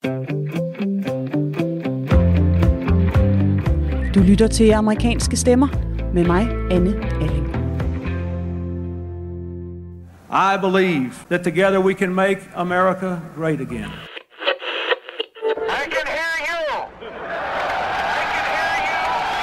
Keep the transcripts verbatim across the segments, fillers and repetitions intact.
Du lytter til Amerikanske Stemmer med mig, Anne Alling. I believe that together we can make America great again. I can hear you. I can hear you.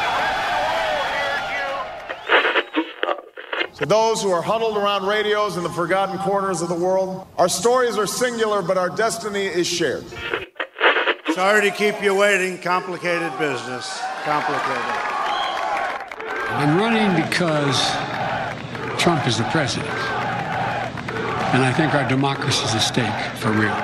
The whole world hears you. To those who are huddled around radios in the forgotten corners of the world, our stories are singular, but our destiny is shared. Sorry to keep you waiting. Complicated business. Complicated. I'm running because Trump is the president. And I think our democracy is at stake for real.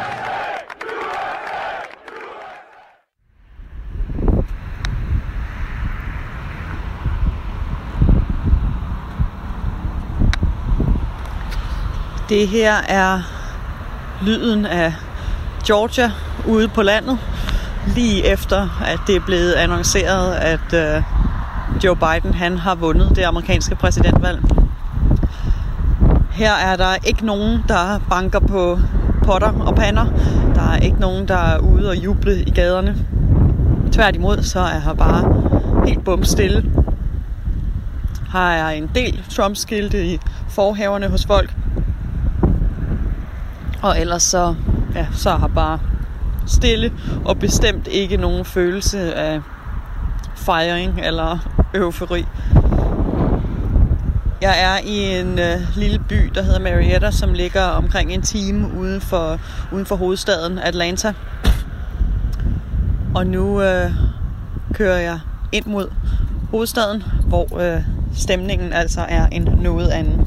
Det her er lyden af Georgia ude på landet, lige efter at det er blevet annonceret, at uh, Joe Biden han har vundet det amerikanske præsidentvalg. Her er der ikke nogen, der banker på potter og pander. Der er ikke nogen, der er ude og juble i gaderne. Tværtimod, så er her bare helt bumstille. Her er en del Trump-skilte i forhaverne hos folk. Og ellers så, ja, så er her bare stille og bestemt ikke nogen følelse af fejring eller eufori. Jeg er i en øh, lille by, der hedder Marietta, som ligger omkring en time uden for, uden for hovedstaden Atlanta. Og nu øh, kører jeg ind mod hovedstaden, hvor øh, stemningen altså er en noget anden.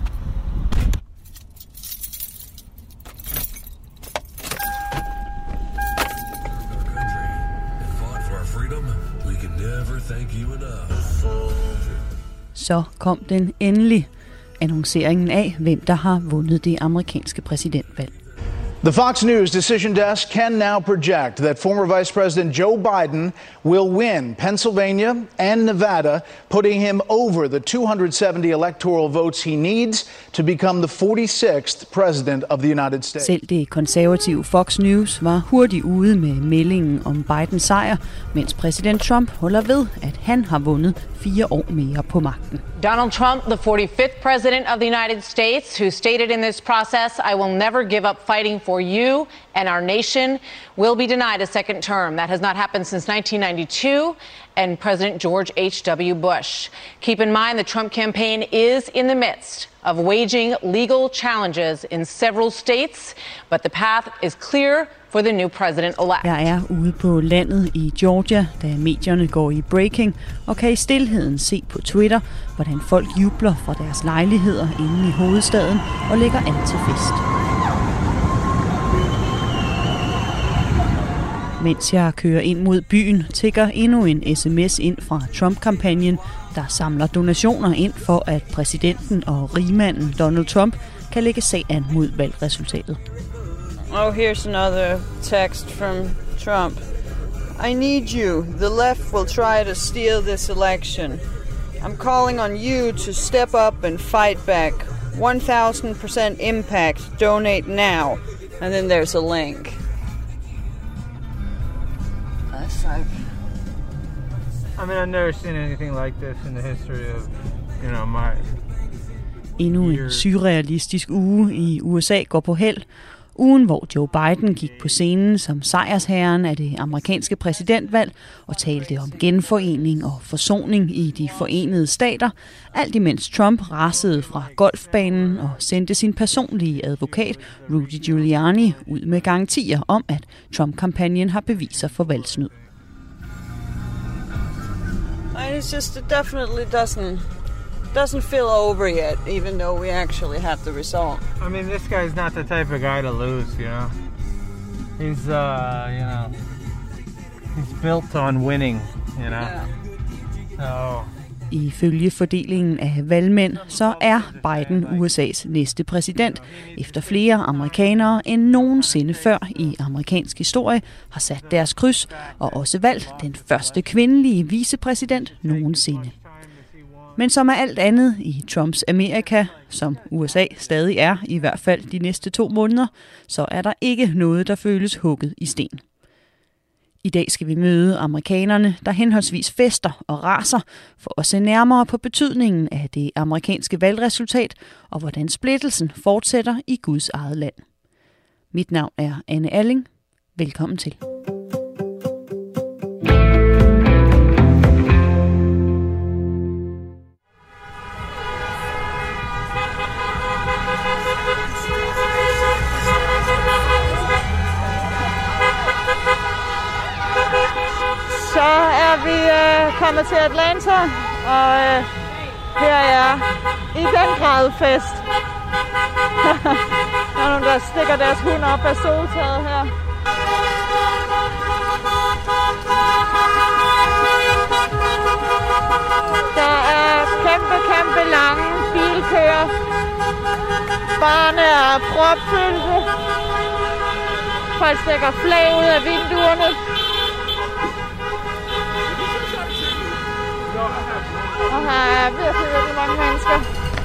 Så kom den endelig, annonceringen af, hvem der har vundet det amerikanske præsidentvalg. The Fox News decision desk can now project that former Vice President Joe Biden will win Pennsylvania and Nevada, putting him over the two hundred seventy electoral votes he needs to become the forty-sixth president of the United States. Selv det konservative Fox News var hurtigt ude med meldingen om Bidens sejr, mens præsident Trump holder ved, at han har vundet fire år mere på magten. Donald Trump, the forty-fifth president of the United States, who stated in this process, I will never give up fighting for you and our nation, will be denied a second term. That has not happened since nineteen ninety-two and President George H W Bush. Keep in mind the Trump campaign is in the midst of waging legal challenges in several states, but the path is clear for the new president-elect. Jeg er ude på landet i Georgia, da medierne går i breaking, og kan i stilheden se på Twitter, hvordan folk jubler fra deres lejligheder inde i hovedstaden og lægger an til fest. Mens jeg kører ind mod byen, tikker endnu en sms ind fra Trump-kampagnen, der samler donationer ind for, at præsidenten og rigmanden Donald Trump kan lægge sag an mod valgresultatet. Oh, here's another text from Trump. I need you. The left will try to steal this election. I'm calling on you to step up and fight back. one thousand percent impact. Donate now. And then there's a link. That's like... I mean, I've never seen anything like this in the history of, you know, my... Endnu en surrealistisk uge i U S A går på held. Ugen, hvor Joe Biden gik på scenen som sejrsherren af det amerikanske præsidentvalg og talte om genforening og forsoning i de forenede stater, alt imens Trump rasede fra golfbanen og sendte sin personlige advokat Rudy Giuliani ud med garantier om, at Trump-kampagnen har beviser for valgsnyd. It's just, it definitely doesn't doesn't feel over yet, even though we actually have the result. I mean, this guy's not the type of guy to lose, you know. He's, uh, you know, he's built on winning, you know. Yeah. So. Ifølge fordelingen af valgmænd, så er Biden U S A's næste præsident, efter flere amerikanere end nogensinde før i amerikansk historie har sat deres kryds og også valgt den første kvindelige vicepræsident nogensinde. Men som er alt andet i Trumps Amerika, som U S A stadig er, i hvert fald de næste to måneder, så er der ikke noget, der føles hugget i sten. I dag skal vi møde amerikanerne, der henholdsvis fester og raser, for at se nærmere på betydningen af det amerikanske valgresultat og hvordan splittelsen fortsætter i Guds eget land. Mit navn er Anne Alling. Velkommen til. Så er vi øh, kommet til Atlanta, og øh, her er i den grad fest. Der er nogen, der stikker deres hund op af soltaget her. Der er kæmpe, kæmpe lange bilkøer. Barne er propfyldte. Folk stikker flag ud af vinduerne. Og her er virkelig, virkelig mange mennesker.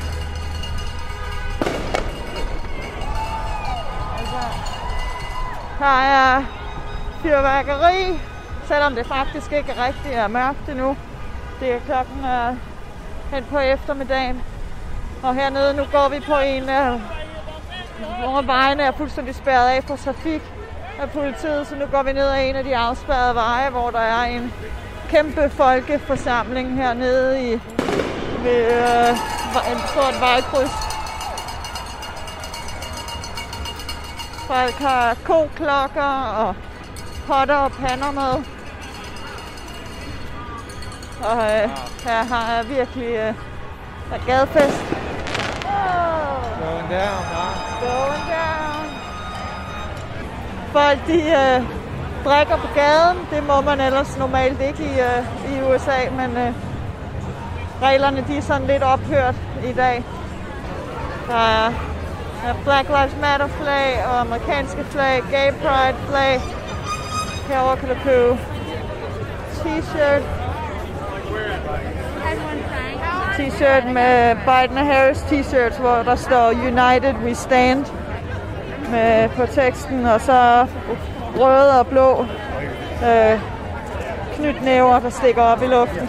Her er fyrværkeri, selvom det faktisk ikke rigtig er mørkt endnu. Det er klokken er hen på eftermiddagen. Og hernede nu går vi på en af, hvor vejene er fuldstændig spærret af for trafik af politiet. Så nu går vi ned ad en af de afspærrede veje, hvor der er en kæmpe folkeforsamling hernede i ved øh, en stort vejkryds. Folk har koklokker og potter og pander med. Og øh, her har jeg virkelig øh, der gadefest. Oh. Going down, huh? Going down. Folk de øh, drikker på gaden. Det må man ellers normalt ikke i, øh, i U S A, men øh, reglerne de er sådan lidt ophørt i dag. Der er Black Lives Matter flag og amerikanske flag, Gay Pride flag. Herovre kan du købe t-shirt. T-shirt med Biden og Harris t-shirts, hvor der står United We Stand med på teksten, og så røde og blå øh, knytnæver, der stikker op i luften.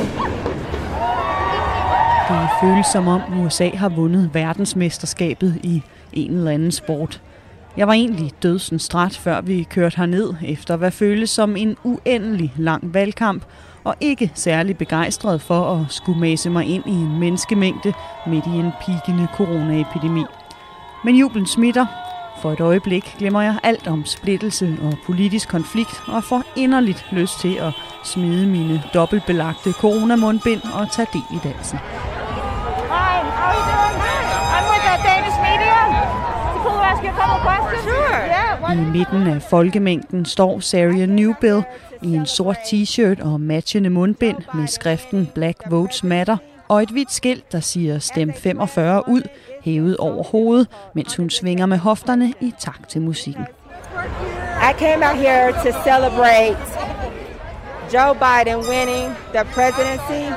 Det føles som om U S A har vundet verdensmesterskabet i en eller anden sport. Jeg var egentlig dødsens træt, før vi kørte herned, efter hvad føles som en uendelig lang valgkamp, og ikke særlig begejstret for at skulle mase mig ind i en menneskemængde midt i en pigende coronaepidemi. Men jublen smitter. For et øjeblik glemmer jeg alt om splittelse og politisk konflikt, og får inderligt lyst til at smide mine dobbeltbelagte coronamundbind og tage del i dansen. Hi, how are you doing? I'm with the Danish media. It's cool to ask you a couple questions. Sure. Yeah. I midten af folkemængden står Sarah Newbill i en sort t-shirt og matchende mundbind med skriften Black Votes Matter og et hvidt skilt, der siger stem femogfyrre ud, hævet over hovedet, mens hun svinger med hofterne i takt til musikken. I came out here to celebrate Joe Biden winning the presidency.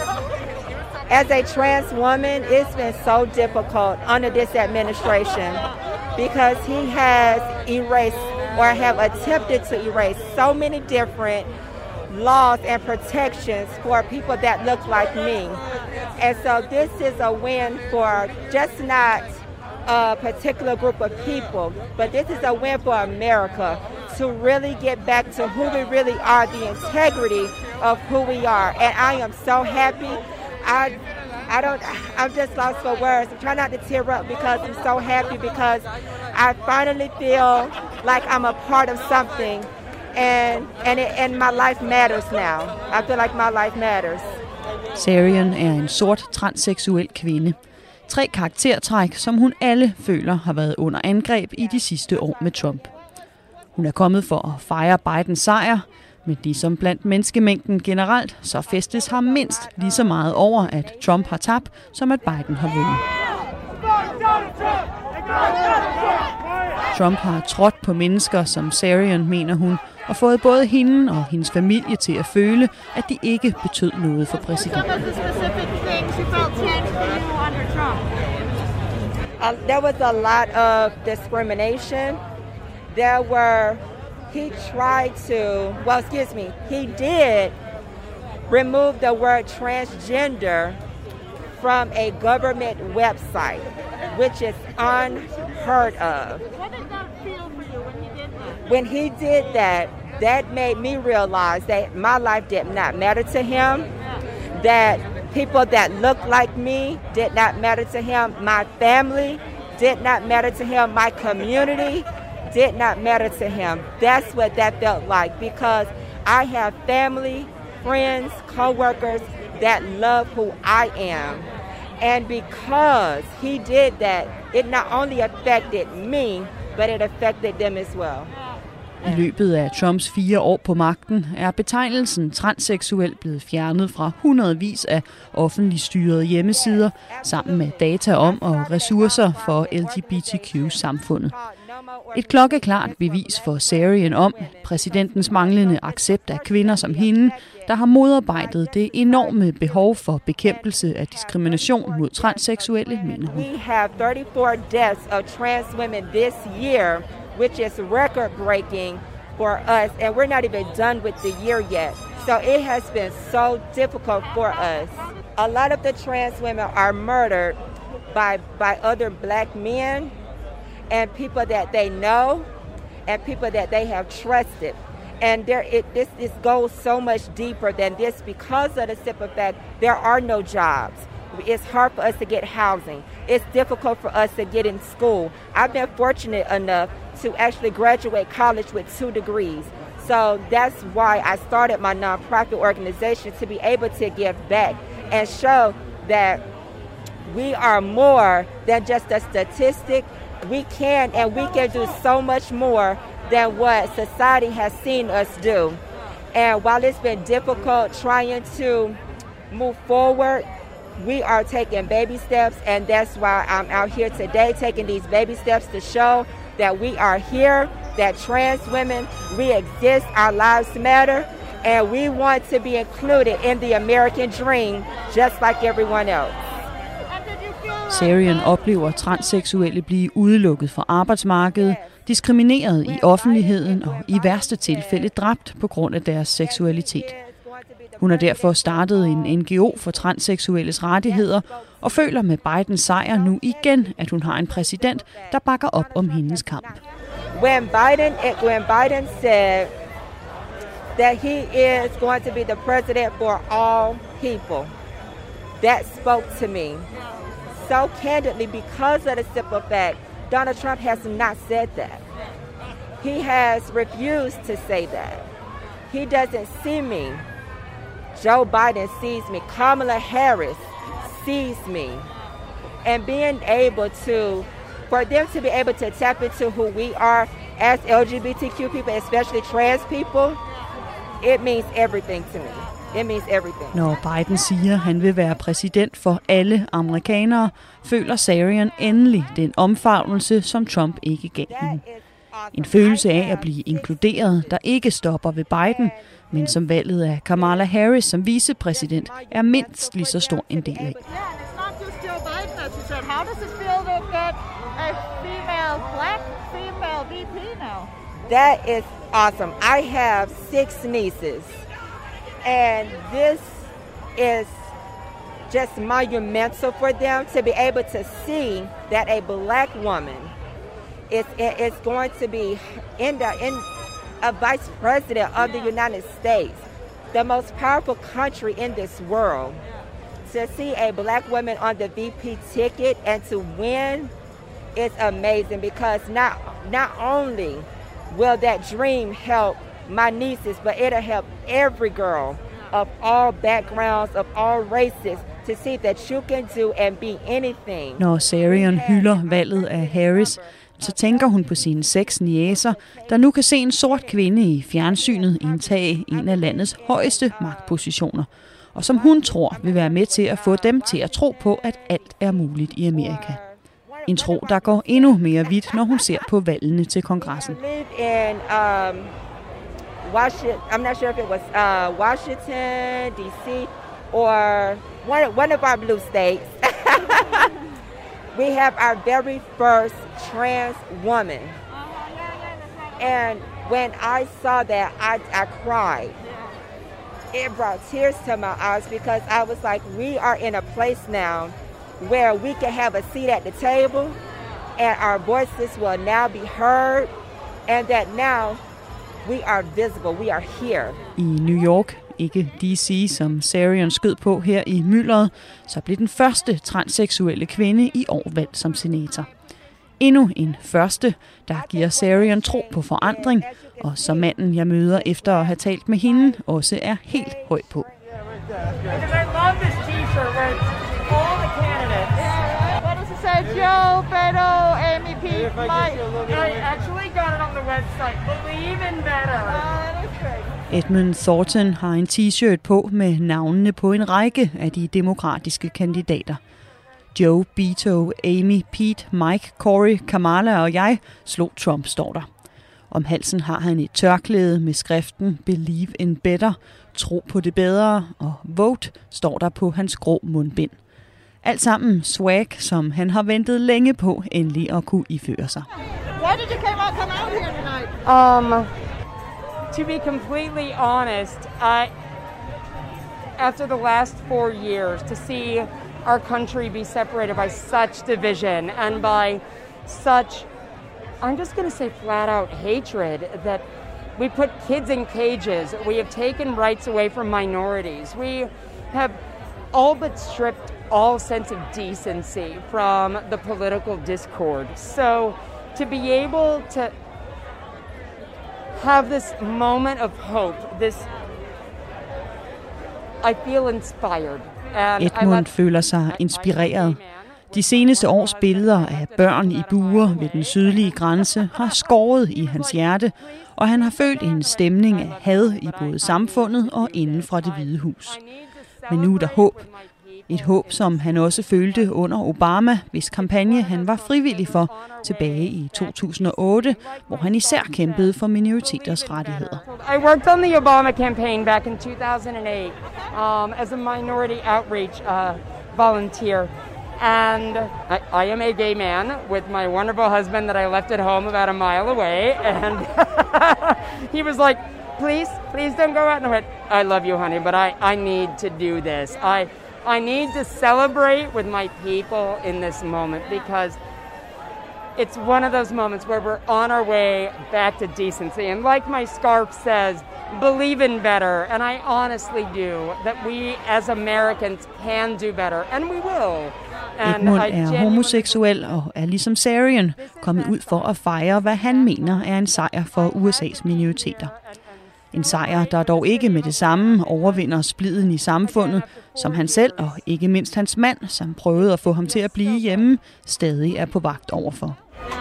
As a trans woman, it's been so difficult under this administration because he has erased or have attempted to erase so many different laws and protections for people that look like me. And so this is a win for just not a particular group of people, but this is a win for America to really get back to who we really are, the integrity of who we are. And I am so happy. I I don't, I'm just lost for words. I'm trying not to tear up because I'm so happy because I finally feel like I'm a part of something and and, it, and my life matters now. I feel like my life matters. Sarian er en sort transseksuel kvinde. Tre karaktertræk, som hun alle føler har været under angreb i de sidste år med Trump. Hun er kommet for at fejre Bidens sejr, men ligesom blandt menneskemængden generelt, så festes har mindst lige så meget over, at Trump har tabt, som at Biden har vundet. Trump har trådt på mennesker, som Sarian mener hun, og fået både hende og hendes familie til at føle, at de ikke betød noget for præsidenten. Uh, there was a lot of discrimination. There were he tried to, well, excuse me, he did remove the word transgender from a government website, which is unheard of. What did that feel for you when he did that? When he did that, that made me realize that my life did not matter to him, that people that looked like me did not matter to him, my family did not matter to him, my community did not matter to him. That's what that felt like, because I have family, friends, co-workers that love who I am. And because he did that, it not only affected me, but it affected them as well. I løbet af Trumps fire år på magten er betegnelsen transseksuel blevet fjernet fra hundredvis af offentligt styrede hjemmesider sammen med data om og ressourcer for L G B T Q-samfundet. Et klokkeklart bevis for Sarian om præsidentens manglende accept af kvinder som hende, der har modarbejdet det enorme behov for bekæmpelse af diskrimination mod transseksuelle, mener hun. We have thirty-four deaths of trans women this year, which is record-breaking for us, and we're not even done with the year yet. So it has been so difficult for us. A lot of the trans women are murdered by by other black men and people that they know and people that they have trusted. And there, it, this, this goes so much deeper than this because of the simple fact there are no jobs. It's hard for us to get housing. It's difficult for us to get in school. I've been fortunate enough to actually graduate college with two degrees. So that's why I started my nonprofit organization, to be able to give back and show that we are more than just a statistic. We can and we can do so much more than what society has seen us do. And while it's been difficult trying to move forward, we are taking baby steps, and that's why I'm out here today taking these baby steps to show that we are here, that trans women, we exist, our lives matter, and we want to be included in the American dream just like everyone else. Sarian oplever transseksuelle blive udelukket fra arbejdsmarkedet, diskrimineret i offentligheden og i værste tilfælde dræbt på grund af deres seksualitet. Hun har derfor startet en N G O for transseksuelles rettigheder og føler med Bidens sejr nu igen, at hun har en præsident, der bakker op om hendes kamp. When Biden, when Biden said that he is going to be the president for all people, that spoke to me so candidly because of the simple fact Donald Trump has not said that. He has refused to say that. He doesn't see me. Joe Biden sees me. Kamala Harris sees me. And being able to, for them to be able to tap into who we are as L G B T Q people, especially trans people, it means everything to me. It means everything. Når Biden siger, at han vil være præsident for alle amerikanere, føler Sarian endelig den omfavnelse, som Trump ikke gav hende. En følelse af at blive inkluderet, der ikke stopper ved Biden, men som valget af Kamala Harris som vicepræsident er mindst lige så stor en del af. That is awesome. I have six nieces, and this is just monumental for them to be able to see that a black woman is is going to be in the in a vice president of the United States, the most powerful country in this world. To see a black woman on the V P ticket and to win is amazing, because not not only will that dream help my nieces, but it'll help every girl of all backgrounds, of all races, to see that you can do and be anything. Når Sarian hylder valget af Harris, så tænker hun på sine seks niecer, der nu kan se en sort kvinde i fjernsynet indtage en af landets højeste magtpositioner, og som hun tror vil være med til at få dem til at tro på, at alt er muligt i Amerika. En tro, der går endnu mere vidt, når hun ser på valgene til kongressen. Washington, I'm not sure if it was uh, Washington, D C, or one, one of our blue states. We have our very first trans woman. And When I saw that, I, I cried. It brought tears to my eyes because I was like, we are in a place now where we can have a seat at the table and our voices will now be heard, and that now we are visible, we are here. I New York, ikke D C, som Sarian skød på her i myldret, så blev den første transseksuelle kvinde i år valgt som senator. Endnu en første, der giver Sarian tro på forandring, og som manden, jeg møder efter at have talt med hende, også er helt høj på. Say Joe, Beto, Amy, Pete, Mike. I actually got it on the website. Believe in better. Edmund Thornton har en t-shirt på med navnene på en række af de demokratiske kandidater. Joe, Beto, Amy, Pete, Mike, Cory, Kamala og jeg slog Trump, står der. Om halsen har han et tørklæde med skriften Believe in better, tro på det bedre, og vote står der på hans grå mundbind. Alt sammen swag, som han har ventet længe på endelig at kunne iføre sig. Why did you come out, come out here tonight? Um, to be completely honest, I, after the last four years, to see our country be separated by such division and by such, I'm just going to say flat out hatred, that we put kids in cages, we have taken rights away from minorities, we have all but stripped all sense of decency from the political discord. So to be able to have this moment of hope, this, I feel inspired. And Edmund føler sig inspireret. De seneste års billeder af børn i buer ved den sydlige grænse har skåret i hans hjerte, og han har følt en stemning af had i både samfundet og inden fra Det Hvide Hus. Men nu er der håb. Et håb, som han også følte under Obama, hvis kampagne han var frivillig for tilbage i to tusind og otte, hvor han især kæmpede for minoriteters rettigheder. I worked on the Obama campaign back in two thousand eight um, as a minority outreach uh, volunteer. And I, I am a gay man with my wonderful husband that I left at home about a mile away. And he was like, please, please don't go out. And I went, I love you, honey, but I, I need to do this. I I need to celebrate with my people in this moment because it's one of those moments where we're on our way back to decency. And like my scarf says, believe in better. And I honestly do, that we as Americans can do better, and we will. Edmund er homoseksuel og er ligesom Sarian kommet ud for at fejre, hvad han mener er en sejr for U S A's minoriteter. En sejr, der dog ikke med det samme overvinder spliden i samfundet, som han selv og ikke mindst hans mand, som prøvede at få ham til at blive hjemme, stadig er på vagt overfor.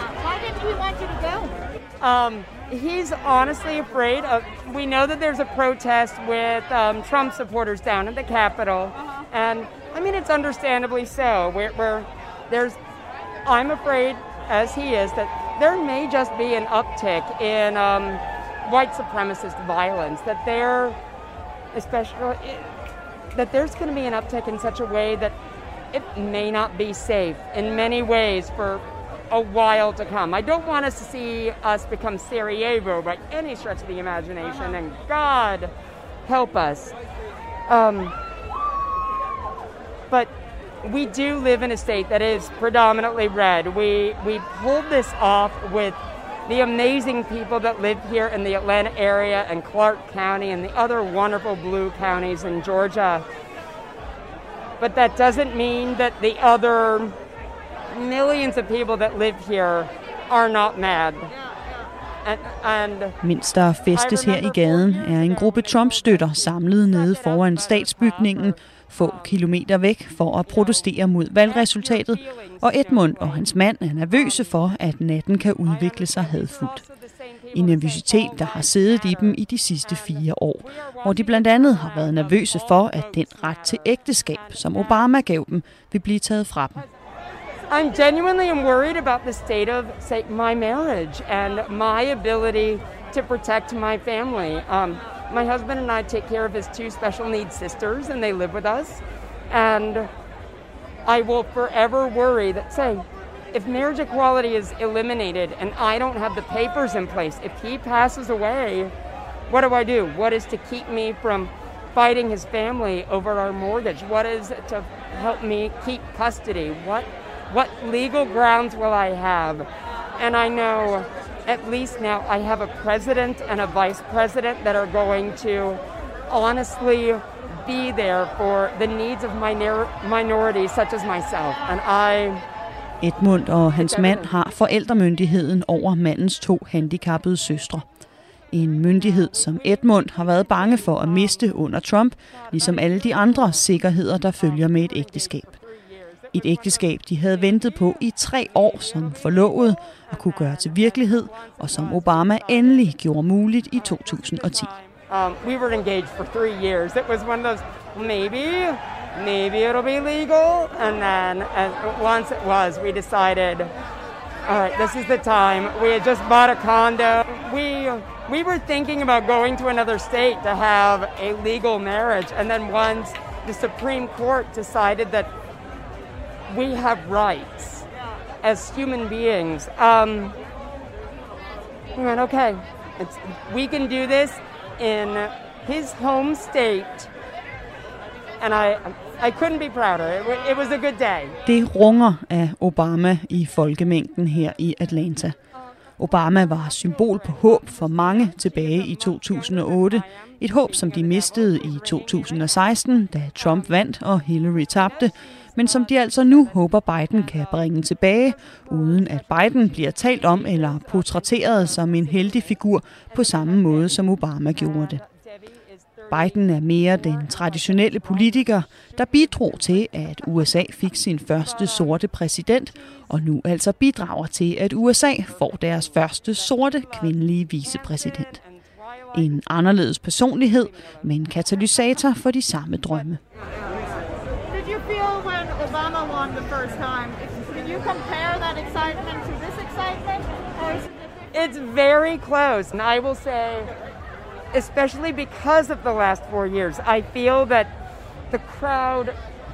Um, he's honestly afraid of, we know that there's a protest with um, Trump supporters down at the Capitol, and I mean, it's understandably so. We're, we're, there's, I'm afraid, as he is, that there may just be an uptick in um, white supremacist violence, that there, especially, that there's going to be an uptick in such a way that it may not be safe in many ways for a while to come. I don't want us to see us become Sarajevo by any stretch of the imagination, and God help us. Um, but we do live in a state that is predominantly red. We, we pulled this off with the amazing people that live here in the Atlanta area and Clark County and the other wonderful blue counties in Georgia. But that doesn't mean that the other millions of people that live here are not mad. And, and Mens der festes her i gaden, er en gruppe Trump-støtter samlet nede foran statsbygningen, få kilometer væk for at protestere mod valgresultatet, og Edmund og hans mand er nervøse for, at natten kan udvikle sig hadfuldt. En nervøsitet, der har siddet i dem i de sidste fire år, hvor de blandt andet har været nervøse for, at den ret til ægteskab, som Obama gav dem, vil blive taget fra dem. I'm genuinely worried about the state of, say, my marriage and my ability to protect my family. Um, my husband and I take care of his two special needs sisters, and they live with us. And I will forever worry that, say, if marriage equality is eliminated and I don't have the papers in place, if he passes away, what do I do? What is to keep me from fighting his family over our mortgage? What is to help me keep custody? What what legal grounds will I have? And I know at least now I have a president and a vice president that are going to honestly be there for the needs of minor- minorities such as myself. And I... Edmund og hans mand har forældremyndigheden over mandens to handicappede søstre. En myndighed, som Edmund har været bange for at miste under Trump, ligesom alle de andre sikkerheder, der følger med et ægteskab. Et ægteskab, de havde ventet på i tre år som forlovet og kunne gøre til virkelighed, og som Obama endelig gjorde muligt i to tusind og ti. Um, we were engaged for three years. It was one of those, maybe, maybe it'll be legal. And then and once it was, we decided, all right, this is the time. We had just bought a condo. We we were thinking about going to another state to have a legal marriage. And then once the Supreme Court decided that we have rights as human beings, um, we went, okay, it's, we can do this in his home state, and I I couldn't be prouder. It, it was a good day. Det runger af Obama i folkemængden her i Atlanta. Obama var symbol på håb for mange tilbage i to tusind og otte. Et håb, som de mistede i to tusind og seksten, da Trump vandt og Hillary tabte, men som de altså nu håber Biden kan bringe tilbage, uden at Biden bliver talt om eller portrætteret som en heldig figur på samme måde, som Obama gjorde det. Biden er mere den traditionelle politiker, der bidrog til, at U S A fik sin første sorte præsident, og nu altså bidrager til, at U S A får deres første sorte kvindelige vicepræsident. En anderledes personlighed, men katalysator for de samme drømme. Did you feel when Obama won the first time? Can you compare that excitement to this excitement? Or is it It's very close, and I will say, especially because of the last four years, I feel that the crowd,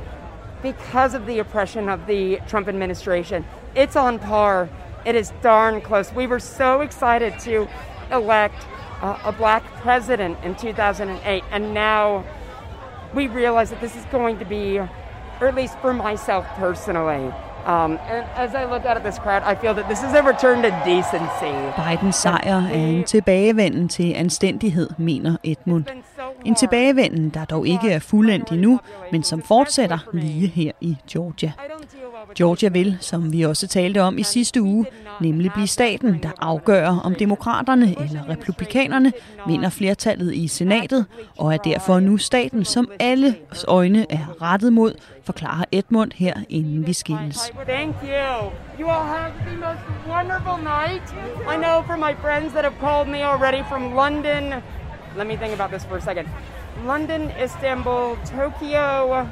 because of the oppression of the Trump administration, it's on par. It is darn close. We were so excited to elect uh, a black president in two thousand eight, and now we realize that this is going to be, or at least for myself personally, Um, and as I look out at this crowd, I feel that this is a return to decency. Bidens sejr er en tilbagevenden til anstændighed, mener Edmund. En tilbagevenden, der dog ikke er fuldendt endnu, men som fortsætter lige her i Georgia. Georgia vil, som vi også talte om i sidste uge, nemlig blive staten, der afgør, om demokraterne eller republikanerne vinder flertallet i senatet, og er derfor nu staten, som alle øjne er rettet mod, forklarer Edmund her, inden vi skilles. Thank you. You all have the most wonderful night. I know from my friends that have called me already from London. Let me think about this for a second. London, Istanbul, Tokyo.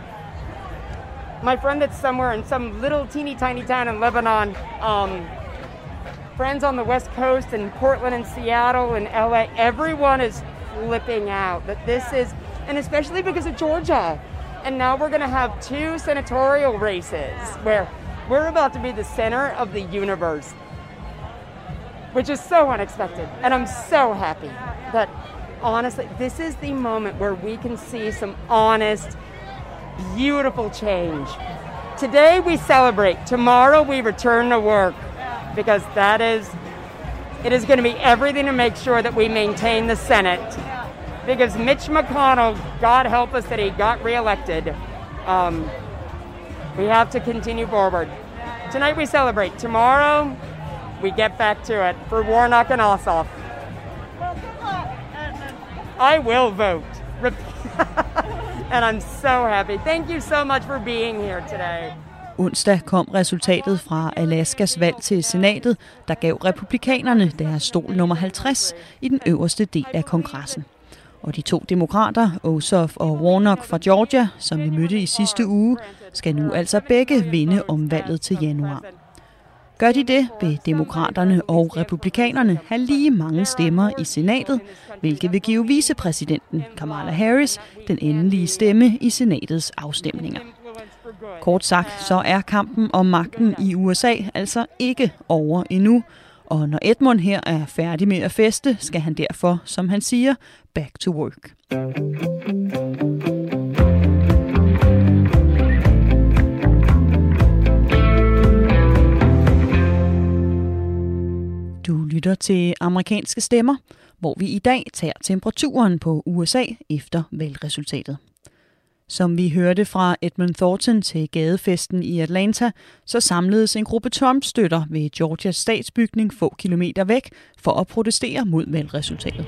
My friend that's somewhere in some little teeny tiny town in Lebanon. Um, friends on the West Coast in Portland and Seattle and L A. Everyone is flipping out that this is, and especially because of Georgia. And now we're going to have two senatorial races where we're about to be the center of the universe, which is so unexpected. And I'm so happy that, honestly, this is the moment where we can see some honest, beautiful change. Today we celebrate. Tomorrow we return to work, because that is, it is going to be everything to make sure that we maintain the Senate. Because Mitch McConnell, God help us that he got reelected, um, we have to continue forward. Tonight we celebrate. Tomorrow we get back to it for Warnock and Ossoff. I will vote. And I'm so happy. Thank you so much for being here today. Onsdag kom resultatet fra Alaskas valg til senatet, der gav republikanerne deres stol nummer halvtreds i den øverste del af kongressen. Og de to demokrater, Ossoff og Warnock fra Georgia, som vi mødte i sidste uge, skal nu altså begge vinde om valget til januar. Gør de det, vil demokraterne og republikanerne have lige mange stemmer i senatet, hvilket vil give vicepræsidenten Kamala Harris den endelige stemme i senatets afstemninger. Kort sagt, så er kampen om magten i U S A altså ikke over endnu. Og når Edmund her er færdig med at feste, skal han derfor, som han siger, back to work. Du lytter til Amerikanske Stemmer, hvor vi i dag tager temperaturen på U S A efter valgresultatet. Som vi hørte fra Edmund Thornton til gadefesten i Atlanta, så samledes en gruppe Trump-støtter ved Georgias statsbygning få kilometer væk for at protestere mod valgresultatet.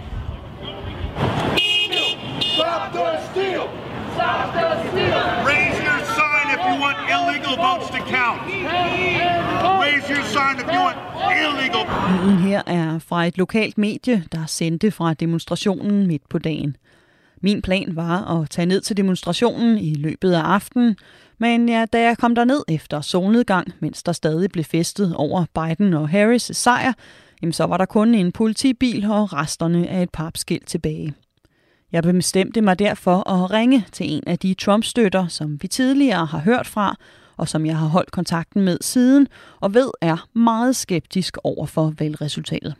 Stop the steal! Stop the steal! Raise your sign if you want illegal votes to count. Raise your sign if you want illegal. Lyden her er fra et lokalt medie, der sendte fra demonstrationen midt på dagen. Min plan var at tage ned til demonstrationen i løbet af aftenen, men ja, da jeg kom derned efter solnedgang, mens der stadig blev festet over Biden og Harris' sejr, jamen så var der kun en politibil og resterne af et papskilt tilbage. Jeg bestemte mig derfor at ringe til en af de Trump-støtter, som vi tidligere har hørt fra, og som jeg har holdt kontakten med siden, og ved er meget skeptisk over for valgresultatet.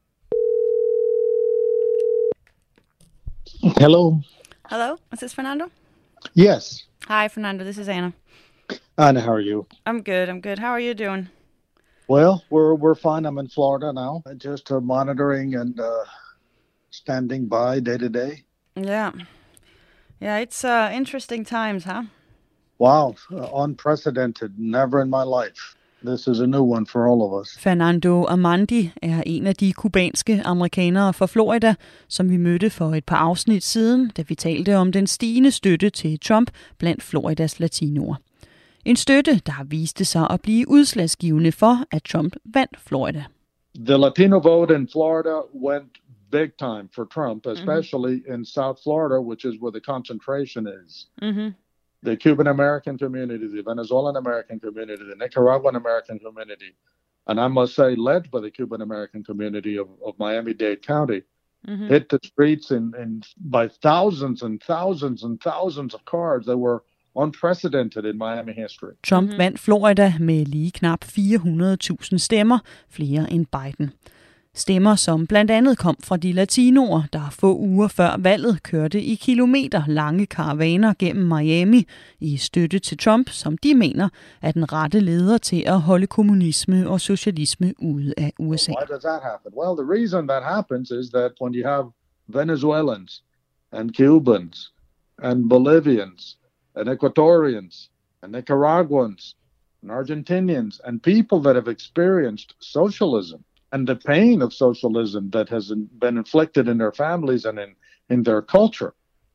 Hello. Hello, is this Fernando? Yes. Hi, Fernando. This is Anna. Anna, how are you? I'm good. I'm good. How are you doing? Well, we're we're fine. I'm in Florida now, just uh, monitoring and uh, standing by day to day. Yeah, yeah. It's uh, interesting times, huh? Wow, uh, unprecedented. Never in my life. This is a new one for all of us. Fernando Amandi er en af de kubanske amerikanere fra Florida, som vi mødte for et par afsnit siden, da vi talte om den stigende støtte til Trump blandt Floridas latinoer. En støtte, der viste sig at blive udslagsgivende for, at Trump vandt Florida. The Latino vote in Florida went big time for Trump, especially mm-hmm. in South Florida, which is where the concentration is. Mm-hmm. The Cuban American community, the Venezuelan American community, the Nicaraguan American community, and I must say, led by the Cuban American community of, of Miami-Dade County, mm-hmm. hit the streets in, in by thousands and thousands and thousands of cars that were unprecedented in Miami history. Trump mm-hmm. vandt Florida med lige knap fire hundrede tusind stemmer, flere end Biden. Stemmer, som blandt andet kom fra de latinoer, der få uger før valget kørte i kilometer lange karavaner gennem Miami i støtte til Trump, som de mener er den rette leder til at holde kommunisme og socialisme ude af U S A. Why does that happen? Well, the reason that happens is that when you have Venezuelans and Cubans and Bolivians and Ecuadorians and Nicaraguans and Argentinians and people that have experienced socialism, and the pain of socialism that has been inflicted in their families and in, in their culture,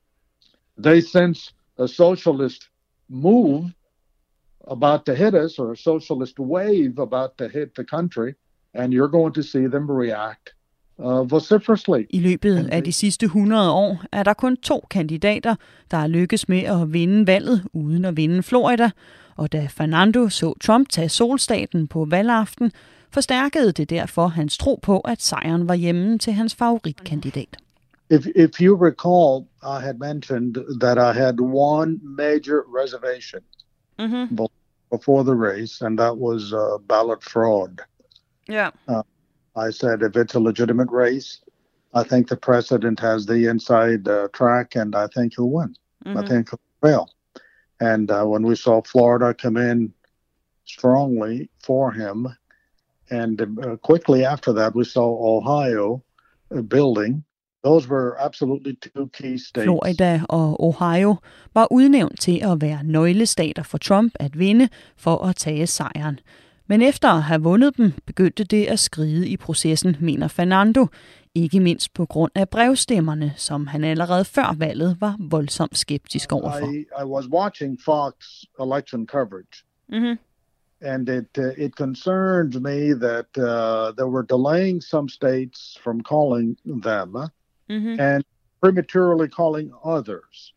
they sense a socialist move about to hit us, or a socialist wave about to hit the country, and you're going to see them react uh, vociferously. I løbet af de sidste hundrede år er der kun to kandidater, der er lykkes med at vinde valget uden at vinde Florida, og da Fernando så Trump tage solstaten på valgaften, forstærkede det derfor hans tro på, at sejren var hjemme til hans favoritkandidat. If, if you recall, I had mentioned that I had one major reservation mm-hmm. before the race, and that was uh, ballot fraud. Yeah. Uh, I said if it's a legitimate race, I think the president has the inside uh, track, and I think he'll win. Mm-hmm. I think he'll fail. And uh, when we saw Florida come in strongly for him, and uh, quickly after that, we saw Ohio uh, building. Those were absolutely two key states. Florida og Ohio var udnævnt til at være nøglestater for Trump at vinde for at tage sejren. Men efter at have vundet dem, begyndte det at skride i processen, mener Fernando. Ikke mindst på grund af brevstemmerne, som han allerede før valget var voldsomt skeptisk overfor. I, I was watching Fox election coverage. Mm-hmm. And it uh, it concerned me that uh, they were delaying some states from calling them mm-hmm. and prematurely calling others.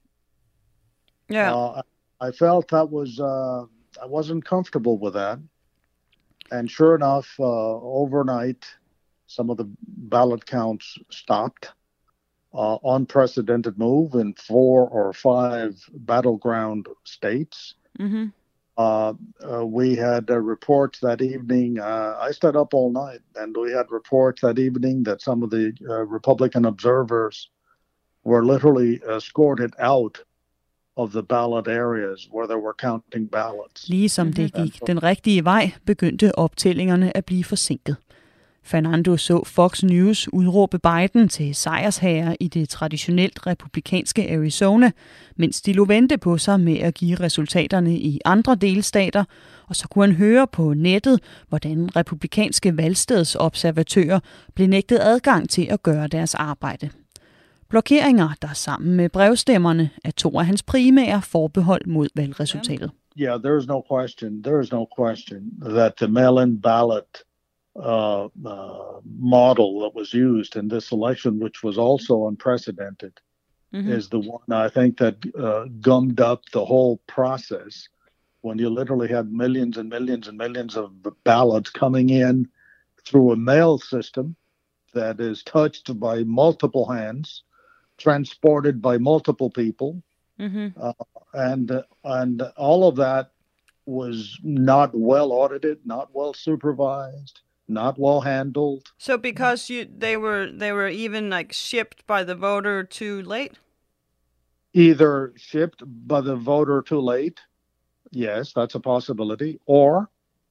Yeah, uh, I felt that was uh, I wasn't comfortable with that. And sure enough, uh, overnight, some of the ballot counts stopped. Uh, unprecedented move in four or five battleground states. Mm-hmm. Uh, uh, we had uh, reports that evening. Uh, I stayed up all night, and we had reports that evening that some of the uh, Republican observers were literally escorted out of the ballot areas where they were counting ballots. Ligesom det gik den rigtige vej, begyndte optællingerne at blive forsinket. Fernando så Fox News udråbe Biden til sejrsherre i det traditionelt republikanske Arizona, mens de lå vente på sig med at give resultaterne i andre delstater, og så kunne han høre på nettet, hvordan republikanske valgstedsobservatører blev nægtet adgang til at gøre deres arbejde. Blokeringer, der sammen med brevstemmerne, er to af hans primære forbehold mod valgresultatet. Yeah, there is no question. There is no question that the mail-in ballot Uh, uh, model that was used in this election, which was also unprecedented, mm-hmm. is the one I think that uh, gummed up the whole process when you literally had millions and millions and millions of ballots coming in through a mail system that is touched by multiple hands, transported by multiple people, mm-hmm. uh, and uh, and all of that was not well audited, not well supervised, not well handled. So because you, they were they were even like shipped by the voter too late? Either shipped by the voter too late, yes, that's a possibility, or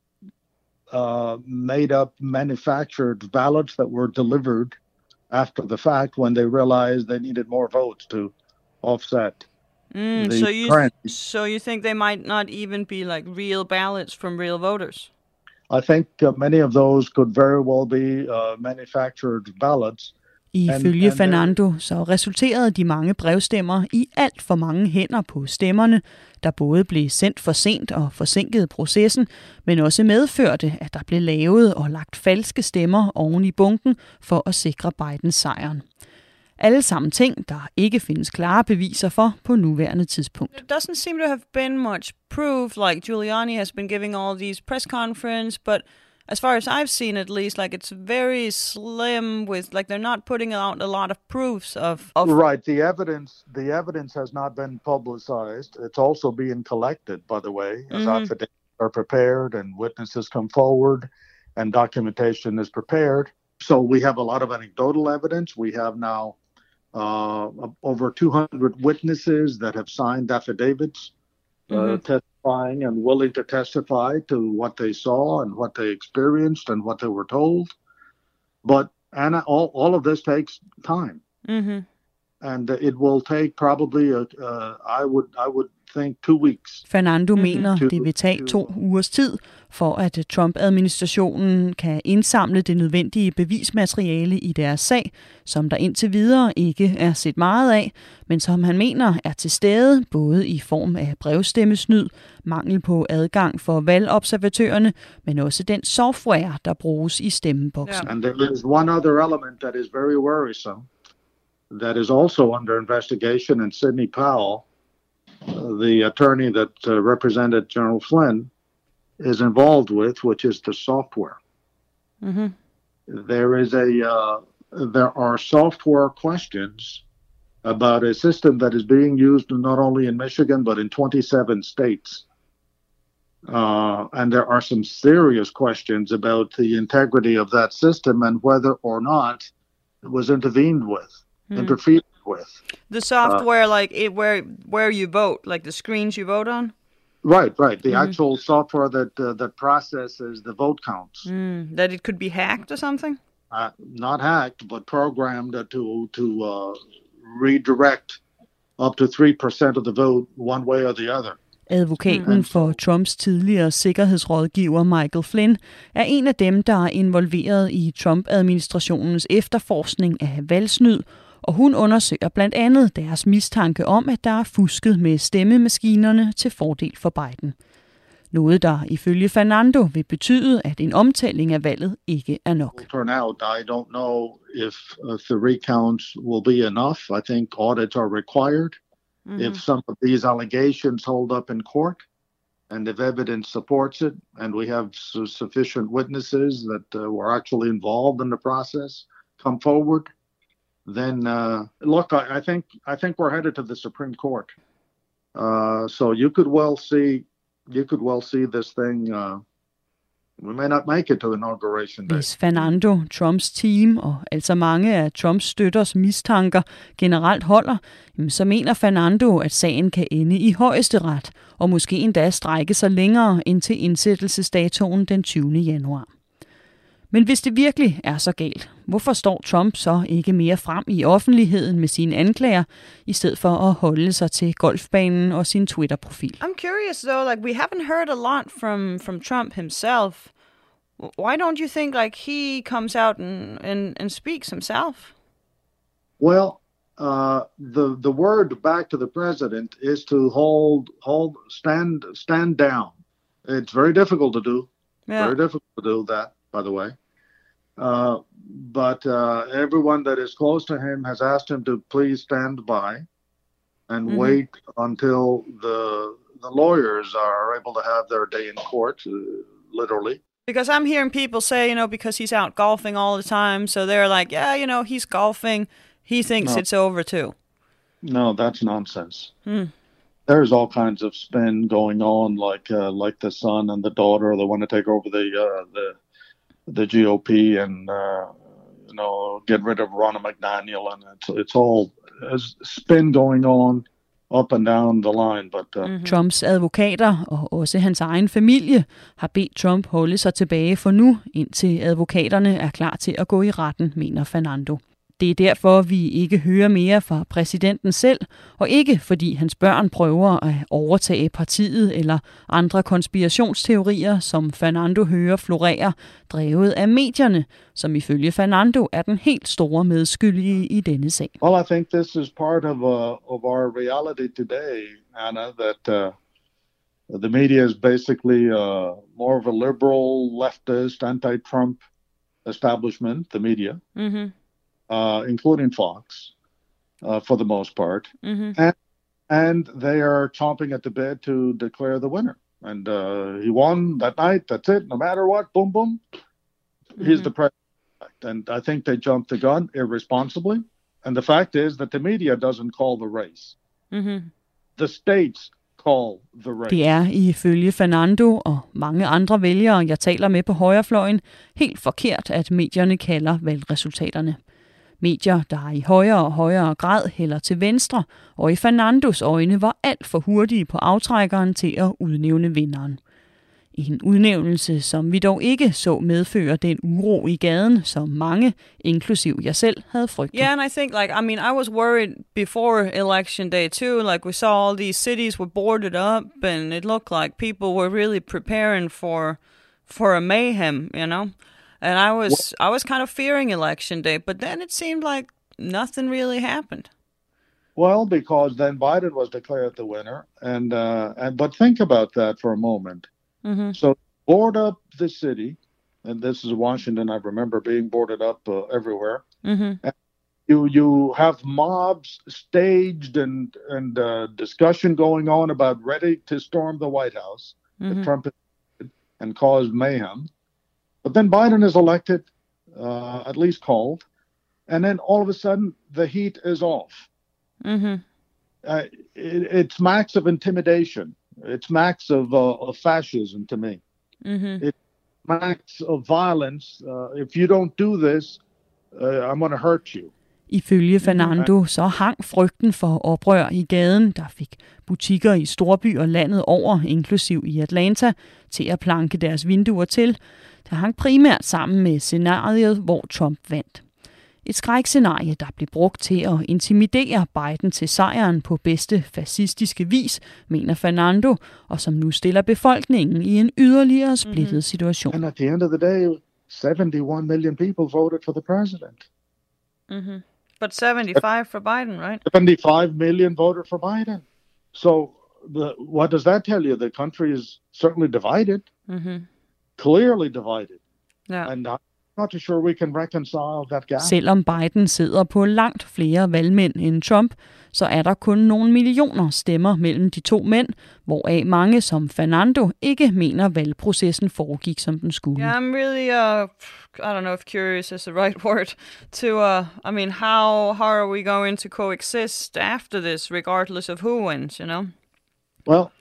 uh, made up manufactured ballots that were delivered after the fact when they realized they needed more votes to offset. Mm, the so you trend. so you think they might not even be like real ballots from real voters? I think uh, many of those could very well be uh, manufactured ballots. Ifølge and, and Fernando så resulterede de mange brevstemmer i alt for mange hænder på stemmerne, der både blev sendt for sent og forsinkede processen, men også medførte, at der blev lavet og lagt falske stemmer oven i bunken for at sikre Bidens sejren. Alle sammen ting, der ikke findes klare beviser for på nuværende tidspunkt. There doesn't seem to have been much proof, like Giuliani has been giving all these press conference, but as far as I've seen at least, like it's very slim with, like they're not putting out a lot of proofs of... of right, the evidence the evidence has not been publicized. It's also being collected, by the way, as mm-hmm. affidavits are prepared and witnesses come forward and documentation is prepared. So we have a lot of anecdotal evidence. We have now Uh, over two hundred witnesses that have signed affidavits uh, mm-hmm. testifying and willing to testify to what they saw and what they experienced and what they were told. But Anna, all, all of this takes time. Mm-hmm. And it will take probably, a, uh, I would I would think, two weeks. Fernando mm-hmm. mener, det vil tage to ugers tid, for at Trump-administrationen kan indsamle det nødvendige bevismateriale i deres sag, som der indtil videre ikke er set meget af, men som han mener er til stede, både i form af brevstemmesnyd, mangel på adgang for valgobservatørerne, men også den software, der bruges i stemmeboksen. Yeah. And there is one other element that is very worrisome, that is also under investigation, and Sidney Powell, uh, the attorney that uh, represented General Flynn, is involved with, which is the software. Mm-hmm. There is a uh, there are software questions about a system that is being used not only in Michigan but in twenty-seven states, uh, and there are some serious questions about the integrity of that system and whether or not it was intervened with, mm. interfered with. The software, uh, like it, where where you vote, like the screens you vote on. Right, right. The mm-hmm. actual software that uh, that processes the vote counts. Mm, that it could be hacked or something? Uh, not hacked, but programmed to to uh, redirect up to three percent of the vote one way or the other. Advokaten mm. for Trumps tidligere sikkerhedsrådgiver Michael Flynn er en af dem, der er involveret i Trump-administrationens efterforskning af valgsnyd, og hun undersøger blandt andet deres mistanke om, at der er fusket med stemmemaskinerne til fordel for Biden. Noget, der ifølge Fernando vil betyde, at en omtælling af valget ikke er nok. Turn out, I don't know if uh, the recounts will be enough. I think audits are required. Mm-hmm. If some of these allegations hold up in court, and if evidence supports it, and we have su- sufficient witnesses that uh, were actually involved in the process come forward, then uh, look, I, I think I think we're headed to the Supreme Court. Uh, so you could well see you could well see this thing. Uh, we may not make it to inauguration day. Hvis Fernando, Trumps team og altså mange af Trumps støtters mistanker generelt holder, så mener Fernando, at sagen kan ende i højesteret og måske endda strække sig længere ind til indsættelsesdatoen den tyvende januar. Men hvis det virkelig er så galt, hvorfor står Trump så ikke mere frem i offentligheden med sine anklager, i stedet for at holde sig til golfbanen og sin Twitter-profil? I'm curious though, like we haven't heard a lot from, from Trump himself. Why don't you think like he comes out and, and, and speaks himself? Well, uh, the the word back to the president is to hold hold stand stand down. It's very difficult to do. Yeah. Very difficult to do that, by the way. Uh, but uh, everyone that is close to him has asked him to please stand by and mm-hmm. wait until the the lawyers are able to have their day in court, uh, literally. Because I'm hearing people say, you know, because he's out golfing all the time, so they're like, yeah, you know, he's golfing. He thinks no. it's over too. No, that's nonsense. Hmm. There's all kinds of spin going on, like uh, like the son and the daughter, they want to take over the uh, the the G O P and uh, you know get rid of Ron McDaniel, and it's it's all spin going on up and down the line. But uh, mm-hmm. Trumps advokater og også hans egen familie har bedt Trump holde sig tilbage for nu, indtil advokaterne er klar til at gå i retten, mener Fernando. Det er derfor, vi ikke hører mere fra præsidenten selv, og ikke fordi hans børn prøver at overtage partiet eller andre konspirationsteorier, som Fernando hører florere, drevet af medierne, som ifølge Fernando er den helt store medskyldige i denne sag. Well, I think this is part of uh, of our reality today, Anna, that uh, the media is basically uh, more of a liberal, leftist, anti-Trump establishment, the media. Mm-hmm. Uh, including Fox, uh, for the most part, mm-hmm. and and they are chomping at the bit to declare the winner. And uh, he won that night. That's it. No matter what, boom, boom, mm-hmm. he's the president. And I think they jumped the gun irresponsibly. And the fact is that the media doesn't call the race. Mm-hmm. The states call the race. Det er ifølge Fernando og mange andre vælgere, jeg taler med på højrefløjen, helt forkert, at medierne kalder valgresultaterne. Medier, der i højere og højere grad hælder til venstre, og i Fernandos øjne var alt for hurtige på aftrækkeren til at udnævne vinderen. En udnævnelse, som vi dog ikke så medføre den uro i gaden, som mange, inklusiv jeg selv, havde frygtet. Yeah, and I think, like, I mean, I was worried before election day too. Like, we saw all these cities were boarded up, and it looked like people were really preparing for for a mayhem, you know. And I was I was kind of fearing election day, but then it seemed like nothing really happened. Well, because then Biden was declared the winner, and uh, and but think about that for a moment. Mm-hmm. So board up the city, and this is Washington. I remember being boarded up uh, everywhere. Mm-hmm. And you you have mobs staged and and uh, discussion going on about ready to storm the White House, mm-hmm. that Trump did, and cause mayhem. But then Biden is elected, uh, at least called, and then all of a sudden the heat is off. Mm-hmm. Uh, it, it's max of intimidation. It's max of, uh, of fascism to me. Mm-hmm. It's max of violence. Uh, if you don't do this, uh, I'm going to hurt you. Ifølge Fernando så hang frygten for oprør i gaden, der fik butikker i storbyer landet over, inklusiv i Atlanta, til at planke deres vinduer til. Der hang primært sammen med scenariet, hvor Trump vandt. Et skrækscenarie, der blev brugt til at intimidere Biden til sejren på bedste fascistiske vis, mener Fernando, og som nu stiller befolkningen i en yderligere splittet mm-hmm. situation. And at the end of the day, seventy-one million people voted for the president. Mm-hmm. But seventy-five for Biden, right? seventy-five million voted for Biden. So the, what does that tell you? The country is certainly divided, mm-hmm. clearly divided. Yeah. And I'm not sure we can reconcile that gap. Selvom Biden sidder på langt flere valgmænd end Trump, så er der kun nogle millioner stemmer mellem de to mænd, hvoraf mange som Fernando ikke mener valgprocessen foregik som den skulle. Yeah, I'm really, uh, I don't know if curious is the right word, to, uh, I mean, how, how are we going to coexist after this, regardless of who wins, you know? Well,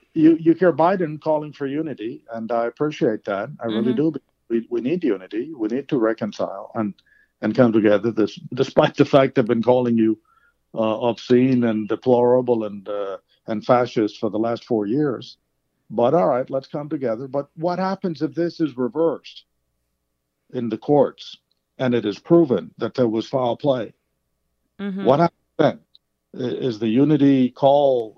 you you hear Biden calling for unity, and I appreciate that. I really mm-hmm. do. We we need unity. We need to reconcile and and come together. This, despite the fact they've been calling you uh, obscene and deplorable and uh, and fascist for the last four years. But all right, let's come together. But what happens if this is reversed in the courts and it is proven that there was foul play? Mm-hmm. What happens then? Is the unity call,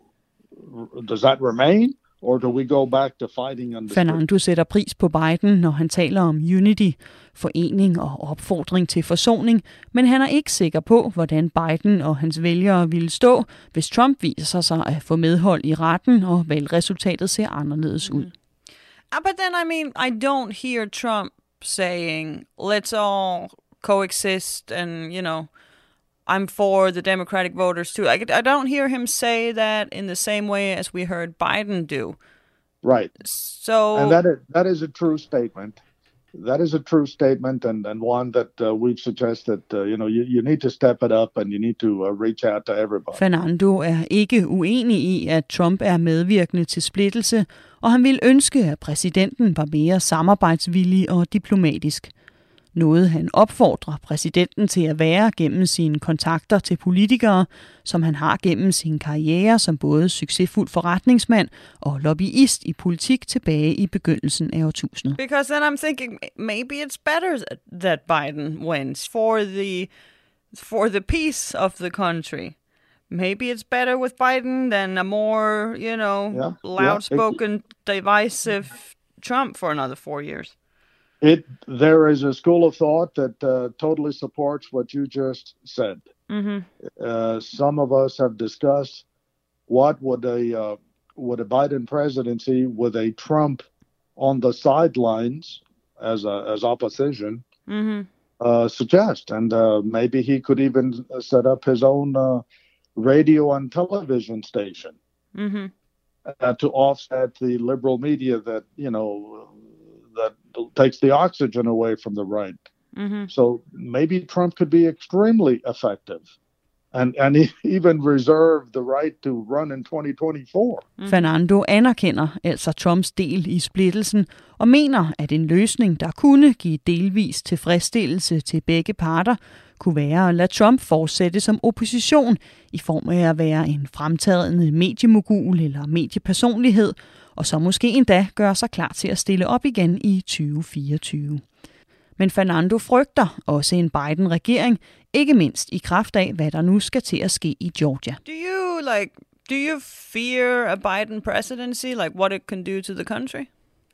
does that remain? Or do we go back to fighting on the Fernando sætter pris på Biden, når han taler om unity, forening og opfordring til forsoning, men han er ikke sikker på, hvordan Biden og hans vælgere ville stå, hvis Trump viser sig at få medhold i retten, og valgresultatet ser anderledes ud. Uh, but then, I mean, I don't hear Trump saying, let's all coexist and, you know, I'm for the Democratic voters too. I, I don't hear him say that in the same way as we heard Biden do. Right. So, and that is, that is a true statement. That is a true statement, and, and one that uh, we've suggested, uh, you know, you, you need to step it up, and you need to uh, reach out to everybody. Fernando er ikke uenig i, at Trump er medvirkende til splittelse, og han ville ønske, at præsidenten var mere samarbejdsvillig og diplomatisk. Noget han opfordrer præsidenten til at være gennem sine kontakter til politikere, som han har gennem sin karriere som både succesfuld forretningsmand og lobbyist i politik tilbage i begyndelsen af årtusindet. Because then I'm thinking maybe it's better that Biden wins for the for the peace of the country. Maybe it's better with Biden than a more, you know, yeah, loud-spoken, yeah. divisive Trump for another four years. It there is a school of thought that uh, totally supports what you just said. Mm-hmm. Uh, some of us have discussed what would a uh, would a Biden presidency with a Trump on the sidelines as a, as opposition mm-hmm. uh, suggest, and uh, maybe he could even set up his own uh, radio and television station mm-hmm. uh, to offset the liberal media that you know. that takes the oxygen away from the right. Mm-hmm. So maybe Trump could be extremely effective and, and even reserve the right to run in twenty twenty-four. Mm. Fernando anerkender altså Trumps del i splittelsen og mener, at en løsning, der kunne give delvis tilfredsstillelse til begge parter, kunne være at lade Trump fortsætte som opposition i form af at være en fremtrædende mediemogul eller mediepersonlighed, og så måske endda gøre sig klar til at stille op igen i tyve fireogtyve. Men Fernando frygter også en Biden-regering, ikke mindst i kraft af, hvad der nu skal til at ske i Georgia. Do you like do you fear a Biden presidency, like what it can do to the country?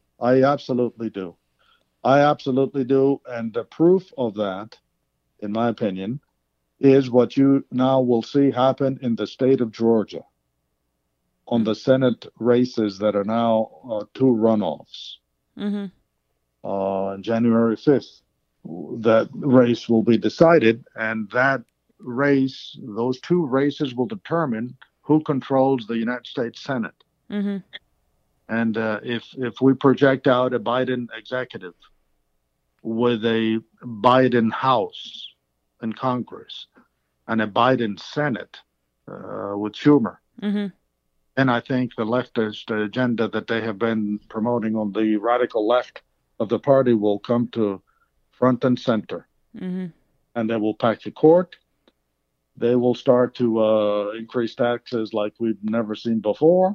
I absolutely do. I absolutely do, and the proof of that, in my opinion, is what you now will see happen in the state of Georgia on the Senate races that are now uh, two runoffs. Mm-hmm. Uh, on January fifth, that race will be decided, and that race, those two races will determine who controls the United States Senate. Mm-hmm. And uh, if if we project out a Biden executive with a Biden House in Congress and a Biden Senate uh, with Schumer, mm-hmm. then I think the leftist agenda that they have been promoting on the radical left of the party will come to front and center. Mm-hmm. And they will pack the court. They will start to uh, increase taxes like we've never seen before.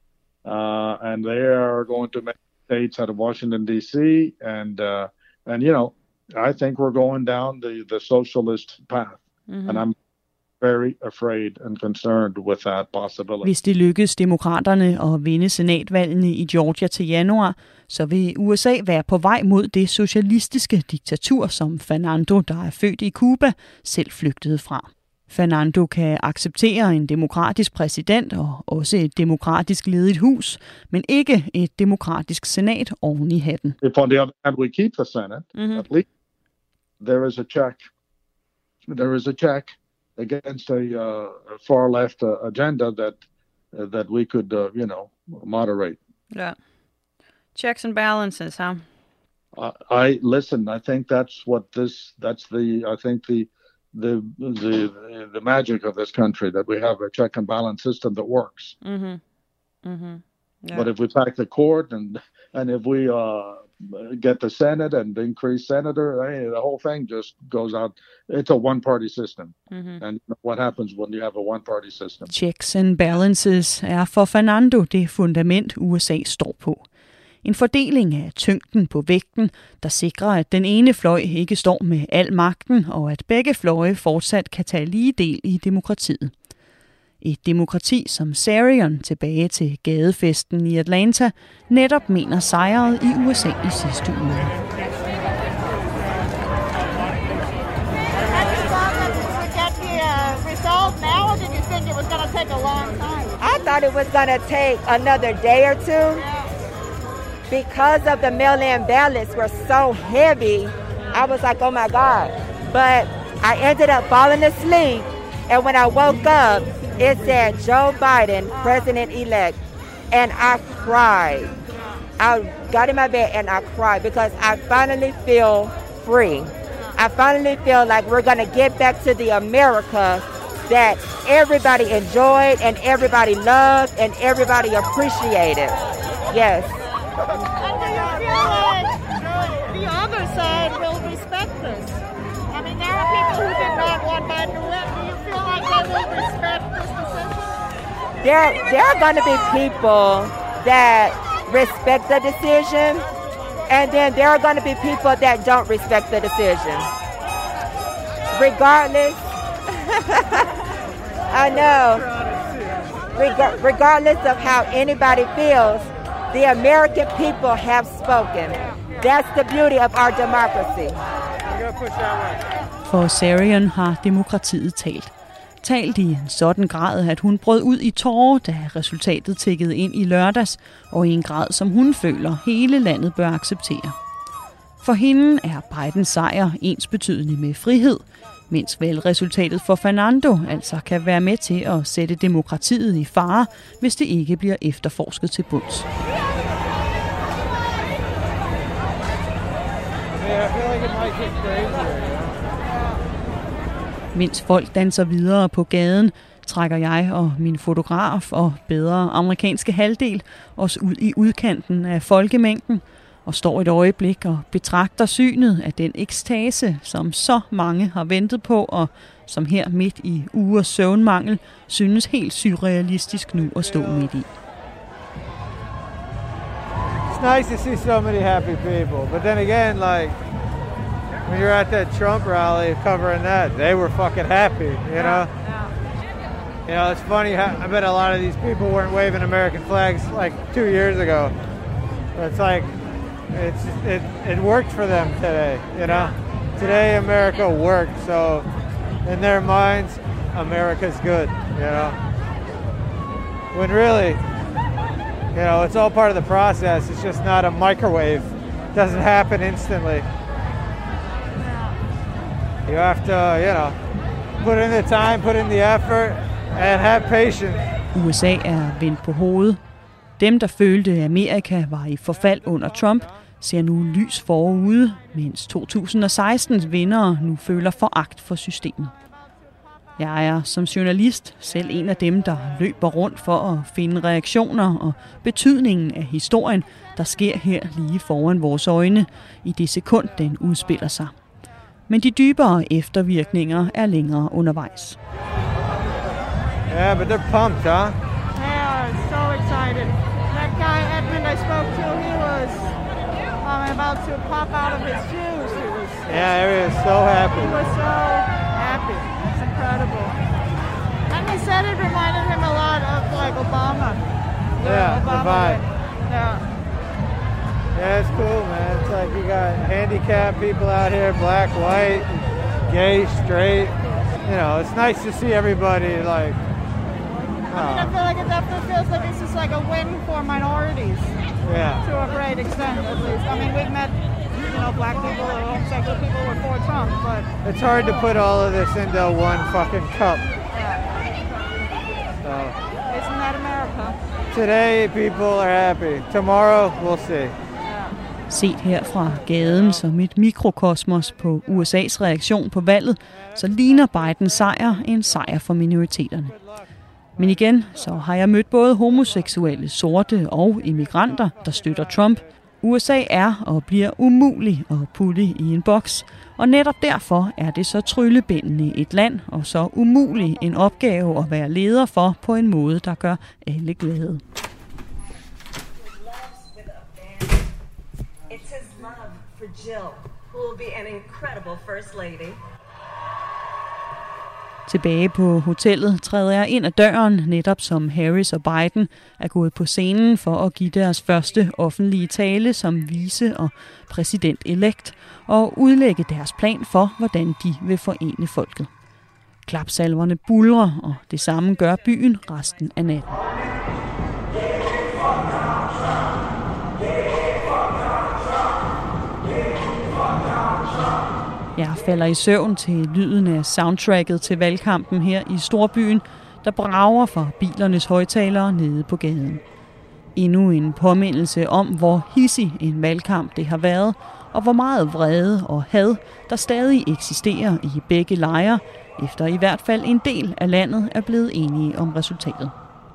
Uh, and they are going to make states out of Washington, D C. And, uh, and you know, I think we're going down the, the socialist path. Mm-hmm. And I'm very afraid and concerned with that possibility. Hvis det lykkes demokraterne at vinde senatvalgene i Georgia til januar, så vil U S A være på vej mod det socialistiske diktatur, som Fernando, der er født i Cuba, selv flygtede fra. Fernando kan acceptere en demokratisk præsident og også et demokratisk ledet hus, men ikke et demokratisk senat oven i hatten. If on the other hand we keep the Senate, mm-hmm. at least there is a check. There is a check against a uh, far left uh, agenda that uh, that we could, uh, you know, moderate. Yeah, checks and balances, huh? Uh, I listen. I think that's what this. That's the. I think the, the the the magic of this country, that we have a check and balance system that works. Mm-hmm. Mm-hmm. Yeah. But if we pack the court and and if we uh, get the Senate and increase senator, hey, the whole thing just goes out. It's a one-party system. Mm-hmm. And what happens when you have a one-party system? Checks and balances er for Fernando det fundament, U S A står på. En fordeling af tyngden på vægten, der sikrer, at den ene fløj ikke står med al magten, og at begge fløje fortsat kan tage lige del i demokratiet. Et demokrati, som Sarion tilbage til gadefesten i Atlanta netop mener sejrede i U S A i sidste uge. I thought it was going to take another day or two because of the mail-in ballots were so heavy. I was like, oh my God. But I ended up falling asleep, and when I woke up, it said Joe Biden, president-elect, and I cried. I got in my bed and I cried because I finally feel free. I finally feel like we're going to get back to the America that everybody enjoyed and everybody loved and everybody appreciated. Yes. And do you feel like the other side will respect this? I mean, there are people who did not want Biden to win. Do you feel like they will respect this decision? There, there are going to be people that respect the decision, and then there are going to be people that don't respect the decision. Regardless, I know, Reg- regardless of how anybody feels, the American people have spoken. That's the beauty of our democracy. For Sarion har demokratiet talt. Talt i en sådan grad, at hun brød ud i tårer, da resultatet tikkede ind i lørdags, og i en grad, som hun føler, hele landet bør acceptere. For hende er Bidens sejr ensbetydende med frihed, mens valgresultatet for Fernando altså kan være med til at sætte demokratiet i fare, hvis det ikke bliver efterforsket til bunds. Mens folk danser videre på gaden, trækker jeg og min fotograf og bedre amerikanske halvdel os ud i udkanten af folkemængden og står et øjeblik og betragter synet af den ekstase, som så mange har ventet på, og som her midt i ugers søvnmangel synes helt surrealistisk nu at stå midt i. It's nice to see so many happy people, but then again, like, when you're at that Trump rally covering that, they were fucking happy, you know? You know, it's funny how, I bet a lot of these people weren't waving American flags like two years ago. But it's like, it's it, it worked for them today, you know? Today America worked, so in their minds, America's good, you know? When really, you know, it's all part of the process. It's just not a microwave. It doesn't happen instantly. You have to, you know, put in the time, put in the effort, and have patience. U S A er vendt på hovedet. Dem, der følte, at Amerika var i forfald under Trump, ser nu lys forude, mens to tusind og sekstens vindere nu føler foragt for systemet. Jeg er som journalist selv en af dem, der løber rundt for at finde reaktioner og betydningen af historien, der sker her lige foran vores øjne, i det sekund, den udspiller sig. Men de dybere eftervirkninger er længere undervejs. Yeah, but they're pumped, huh? They are so excited. That guy Edmund I spoke to, he was um, about to pop out of his shoes. He was, yeah, he was so happy. He was so happy. It's incredible. And he said it reminded him a lot of like Obama. Yeah, Obama the vibe. Yeah. Yeah, it's cool, man. It's like you got handicapped people out here, black, white, gay, straight. You know, it's nice to see everybody like. Uh, I mean, I feel like it definitely feels like it's just like a win for minorities. Yeah. To a great extent, at least. I mean, we've met, you know, black people or homosexual people who were for Trump, but. It's hard to put all of this into one fucking cup. Yeah. So. Isn't that America? Today, people are happy. Tomorrow, we'll see. Set her fra gaden som et mikrokosmos på U S A's reaktion på valget, så ligner Bidens sejr en sejr for minoriteterne. Men igen, så har jeg mødt både homoseksuelle, sorte og immigranter, der støtter Trump. U S A er og bliver umulig at putte i en boks, og netop derfor er det så tryllebindende et land og så umulig en opgave at være leder for på en måde, der gør alle glade. It's his love for Jill, who will be an incredible first lady. Tilbage på hotellet træder jeg ind ad døren, netop som Harris og Biden er gået på scenen for at give deres første offentlige tale som vice- og præsident-elekt og udlægge deres plan for, hvordan de vil forene folket. Klapsalverne buldrer, og det samme gør byen resten af natten. Jeg falder i søvn til lyden af soundtracket til valgkampen her i storbyen, der brager fra bilernes højttalere nede på gaden. Endnu en påmindelse om, hvor hissig en valgkamp det har været, og hvor meget vrede og had, der stadig eksisterer i begge lejre, efter i hvert fald en del af landet er blevet enige om resultatet.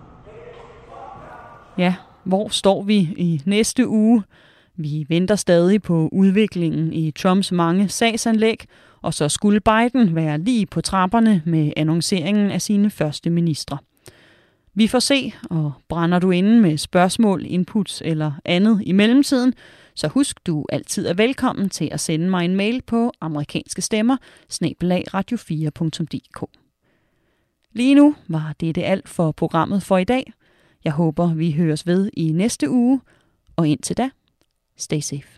Ja, hvor står vi i næste uge? Vi venter stadig på udviklingen i Trumps mange sagsanlæg, og så skulle Biden være lige på trapperne med annonceringen af sine første ministre. Vi får se, og brænder du inde med spørgsmål, inputs eller andet i mellemtiden, så husk, du altid er velkommen til at sende mig en mail på amerikanske stemmer snabel-a radio fire punktum d k. Lige nu var det alt for programmet for i dag. Jeg håber, vi høres ved i næste uge, og indtil da, stay safe.